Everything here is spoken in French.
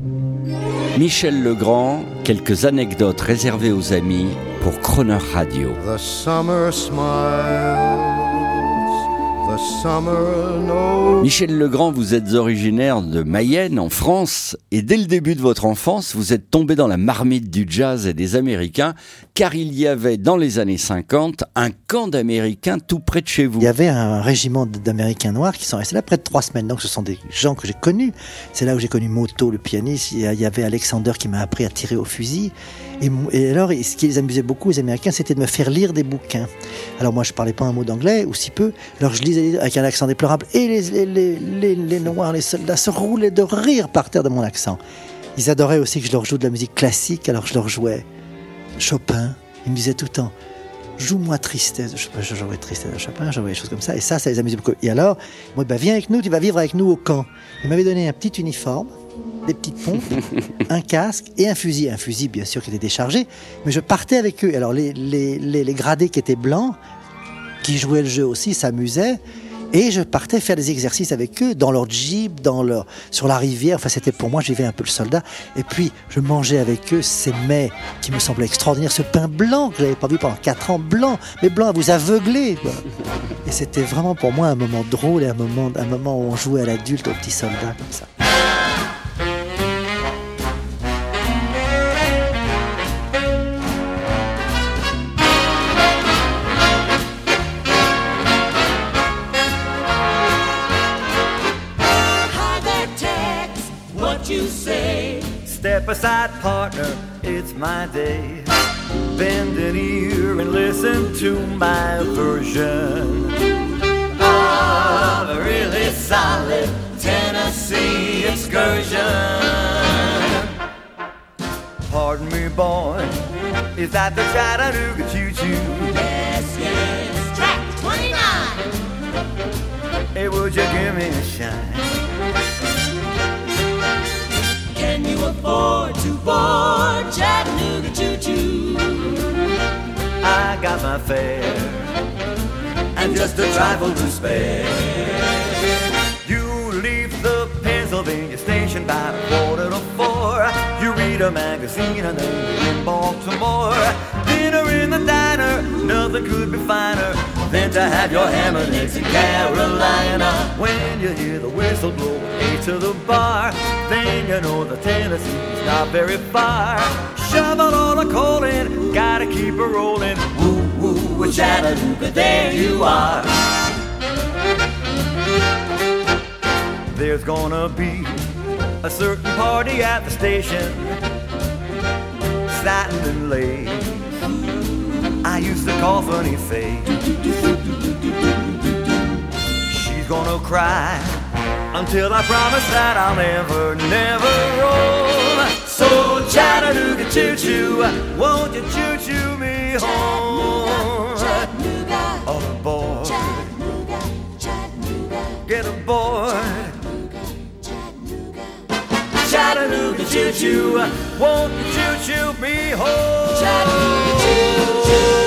Michel Legrand, quelques anecdotes réservées aux amis pour Croner Radio. The summer smiles, the summer knows. Michel Legrand, vous êtes originaire de Mayenne, en France, et dès le début de votre enfance, vous êtes tombé dans la marmite du jazz et des Américains, car il y avait, dans les années 50, un camp d'Américains tout près de chez vous. Il y avait un régiment d'Américains noirs qui sont restés là près de 3 semaines. Donc ce sont des gens que j'ai connus. C'est là où j'ai connu Moto, le pianiste. Il y avait Alexander qui m'a appris à tirer au fusil. Et alors, ce qui les amusait beaucoup, les Américains, c'était de me faire lire des bouquins. Alors moi, je parlais pas un mot d'anglais, ou si peu. Alors je lisais avec un accent déplorable. Et les Noirs, les soldats se roulaient de rire par terre de mon accent. Ils adoraient aussi que je leur joue de la musique classique. Alors je leur jouais Chopin. Ils me disaient tout le temps, joue-moi Tristesse. Je jouais Tristesse de Chopin, je jouais des choses comme ça. Et ça les amusait beaucoup. Et alors, moi, viens avec nous, tu vas vivre avec nous au camp. Ils m'avaient donné un petit uniforme, des petites pompes, un casque et un fusil. Un fusil, bien sûr, qui était déchargé. Mais je partais avec eux. Alors, les gradés qui étaient blancs, qui jouaient le jeu aussi, s'amusaient. Et je partais faire des exercices avec eux, dans leur jeep, sur la rivière. Enfin, c'était pour moi, j'y vais un peu le soldat. Et puis, je mangeais avec eux ces mets qui me semblaient extraordinaires. Ce pain blanc que je n'avais pas vu pendant 4 ans, blanc, mais blanc à vous aveugler, quoi. Et c'était vraiment pour moi un moment drôle et un moment où on jouait à l'adulte, au petit soldat, comme ça. You say, step aside, partner, it's my day. Bend an ear and listen to my version of a really solid Tennessee excursion. Pardon me, boy, is that the Chattanooga choo-choo? Yes, yes, track 29. Hey, would you give me a shine? Can you afford to board Chattanooga choo-choo? I got my fare and just a trifle to spare. You leave the Pennsylvania station by 3:45. You read a magazine and then you're in Baltimore. Dinner in the diner, nothing could be finer than to have your ham and eggs in Carolina. When you hear the whistle blow, A to the bar, then you know the Tennessee's not very far. Shovel all the coal in, gotta keep it rolling. Woo woo, with Chattanooga, there you are. There's gonna be a certain party at the station, satin and lace. I used to call Funny Face. She's gonna cry until I promise that I'll never, never roam. So Chattanooga choo-choo, won't you choo-choo me home? Chattanooga, All aboard, Chattanooga, Chattanooga, get aboard. Chattanooga, Chattanooga choo-choo, won't you choo-choo me home? Chattanooga choo-choo.